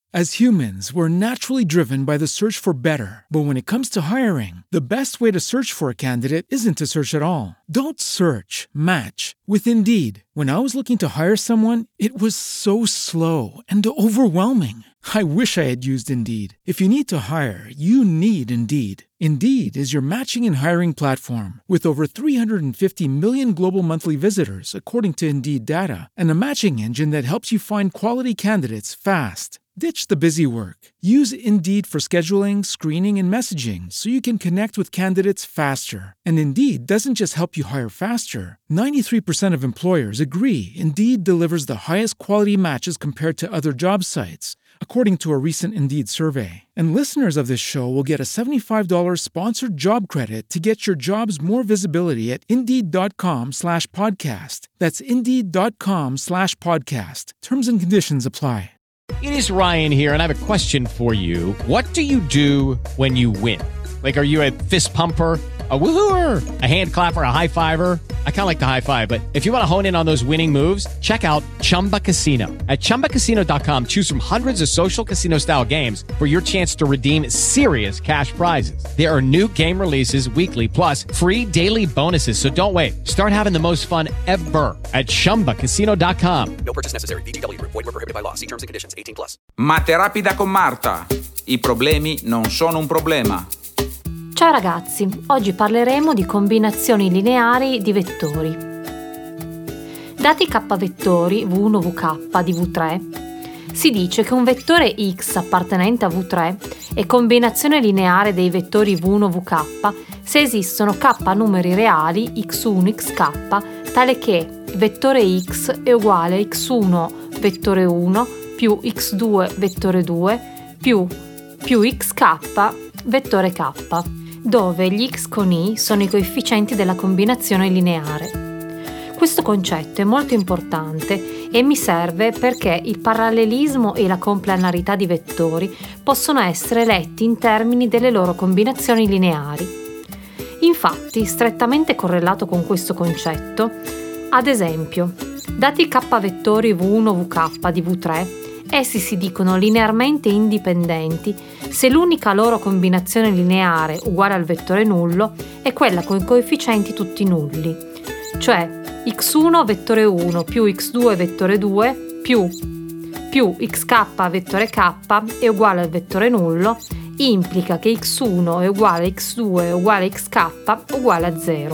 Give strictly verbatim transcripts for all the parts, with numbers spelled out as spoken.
As humans, we're naturally driven by the search for better. But when it comes to hiring, the best way to search for a candidate isn't to search at all. Don't search, match with Indeed. When I was looking to hire someone, it was so slow and overwhelming. I wish I had used Indeed. If you need to hire, you need Indeed. Indeed is your matching and hiring platform with over three hundred fifty million global monthly visitors, according to Indeed data, and a matching engine that helps you find quality candidates fast. Ditch the busy work. Use Indeed for scheduling, screening, and messaging so you can connect with candidates faster. And Indeed doesn't just help you hire faster. ninety-three percent of employers agree Indeed delivers the highest quality matches compared to other job sites, according to a recent Indeed survey. And listeners of this show will get a seventy-five dollars sponsored job credit to get your jobs more visibility at Indeed.com slash podcast. That's Indeed.com slash podcast. Terms and conditions apply. It is Ryan here, and I have a question for you. What do you do when you win? Like, are you a fist pumper, a woo-hooer, a hand clapper, a high-fiver? I kind of like the high-five, but if you want to hone in on those winning moves, check out Chumba Casino. At Chumba Casino dot com, choose from hundreds of social casino-style games for your chance to redeem serious cash prizes. There are new game releases weekly, plus free daily bonuses, so don't wait. Start having the most fun ever at Chumba Casino dot com. No purchase necessary. V G W. Void where prohibited by law. See terms and conditions. eighteen plus. Mate rapida con Marta. I problemi non sono un problema. Ciao ragazzi, oggi parleremo di combinazioni lineari di vettori. Dati k vettori V uno V K di V tre, si dice che un vettore x appartenente a V tre è combinazione lineare dei vettori V uno V K se esistono k numeri reali x uno x k, tale che vettore x è uguale a x uno vettore uno più x due vettore due più più xk vettore k, dove gli x con i sono i coefficienti della combinazione lineare. Questo concetto è molto importante e mi serve perché il parallelismo e la compleanarietà di vettori possono essere letti in termini delle loro combinazioni lineari. Infatti, strettamente correlato con questo concetto, ad esempio, dati k vettori V uno V K di V tre, essi si dicono linearmente indipendenti se l'unica loro combinazione lineare uguale al vettore nullo è quella con i coefficienti tutti nulli, cioè x uno vettore uno più x due vettore due più, più xk vettore k è uguale al vettore nullo, implica che x uno è uguale a x due è uguale a xk uguale a zero.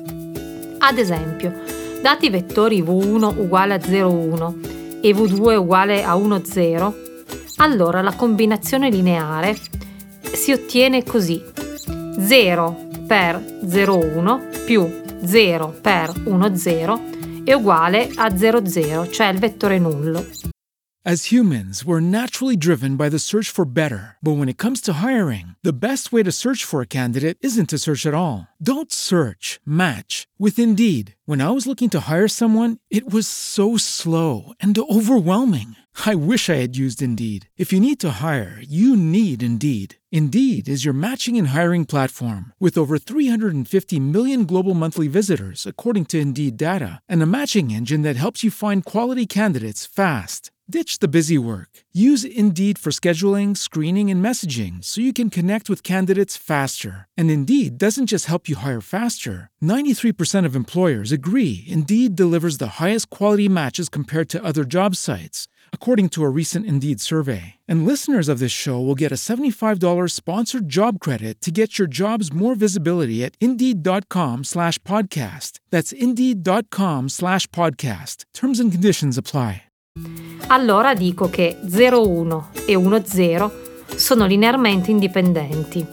Ad esempio, dati vettori V uno uguale a zero uno e V due uguale a uno zero, allora la combinazione lineare si ottiene così: zero per zero uno più zero per uno zero è uguale a zero zero, cioè il vettore nullo. As humans, we're naturally driven by the search for better. But when it comes to hiring, the best way to search for a candidate isn't to search at all. Don't search, match with Indeed. When I was looking to hire someone, it was so slow and overwhelming. I wish I had used Indeed. If you need to hire, you need Indeed. Indeed is your matching and hiring platform with over three hundred fifty million global monthly visitors, according to Indeed data, and a matching engine that helps you find quality candidates fast. Ditch the busy work. Use Indeed for scheduling, screening, and messaging so you can connect with candidates faster. And Indeed doesn't just help you hire faster. ninety-three percent of employers agree Indeed delivers the highest quality matches compared to other job sites, according to a recent Indeed survey. And listeners of this show will get a seventy-five dollars sponsored job credit to get your jobs more visibility at Indeed.com slash podcast. That's Indeed.com slash podcast. Terms and conditions apply. Allora dico che zero uno e uno zero sono linearmente indipendenti,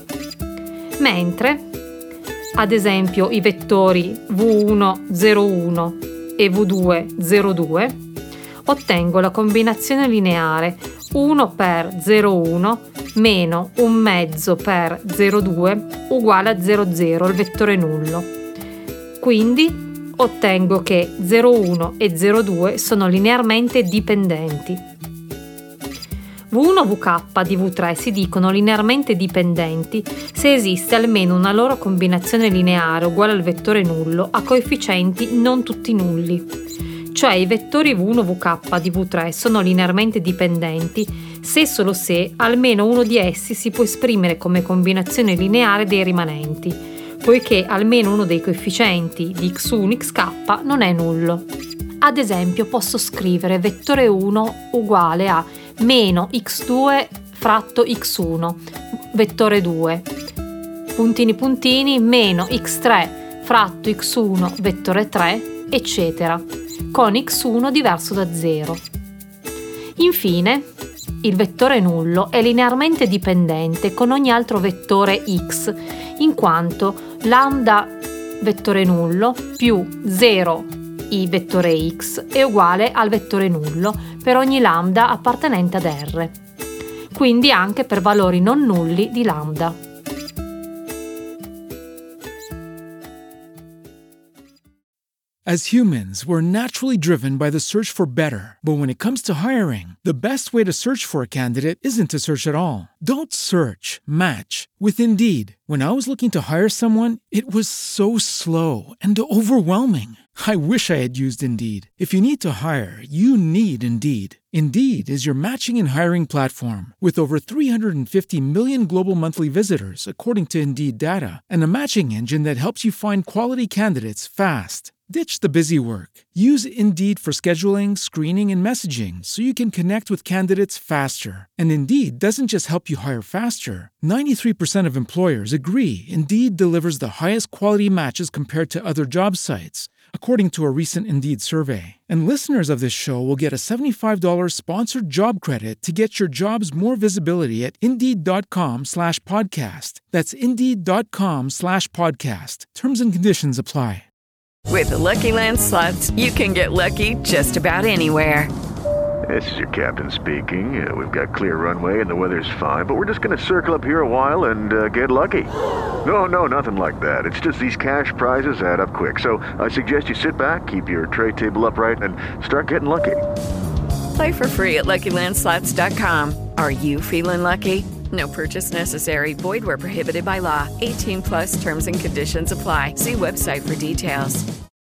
mentre, ad esempio, i vettori V uno zero uno e V due zero due ottengo la combinazione lineare uno per zero uno meno un mezzo per zero due uguale a zero zero, il vettore nullo. Quindi ottengo che zero uno e zero due sono linearmente dipendenti. V uno V K di V tre si dicono linearmente dipendenti se esiste almeno una loro combinazione lineare uguale al vettore nullo a coefficienti non tutti nulli. Cioè i vettori V uno V K di V tre sono linearmente dipendenti se e solo se almeno uno di essi si può esprimere come combinazione lineare dei rimanenti, poiché almeno uno dei coefficienti di x uno xk non è nullo. Ad esempio posso scrivere vettore uno uguale a meno x due fratto x uno, vettore due, puntini puntini, meno x tre fratto x uno, vettore tre, eccetera, con x uno diverso da zero. Infine, il vettore nullo è linearmente dipendente con ogni altro vettore x, in quanto lambda vettore nullo più zero i vettore x è uguale al vettore nullo per ogni lambda appartenente ad R, quindi anche per valori non nulli di lambda. As humans, we're naturally driven by the search for better. But when it comes to hiring, the best way to search for a candidate isn't to search at all. Don't search, match with Indeed. When I was looking to hire someone, it was so slow and overwhelming. I wish I had used Indeed. If you need to hire, you need Indeed. Indeed is your matching and hiring platform with over three hundred fifty million global monthly visitors, according to Indeed data, and a matching engine that helps you find quality candidates fast. Ditch the busy work. Use Indeed for scheduling, screening, and messaging so you can connect with candidates faster. And Indeed doesn't just help you hire faster. ninety-three percent of employers agree Indeed delivers the highest quality matches compared to other job sites, according to a recent Indeed survey. And listeners of this show will get a seventy-five dollars sponsored job credit to get your jobs more visibility at Indeed.com slash podcast. That's Indeed.com slash podcast. Terms and conditions apply. With the Lucky Land Slots, you can get lucky just about anywhere. This is your captain speaking. Uh, we've got clear runway and the weather's fine, but we're just going to circle up here a while and uh, get lucky. No, no, nothing like that. It's just these cash prizes add up quick. So I suggest you sit back, keep your tray table upright, and start getting lucky. Play for free at Lucky Land Slots dot com. Are you feeling lucky? No purchase necessary. Void where prohibited by law. eighteen plus terms and conditions apply. See website for details.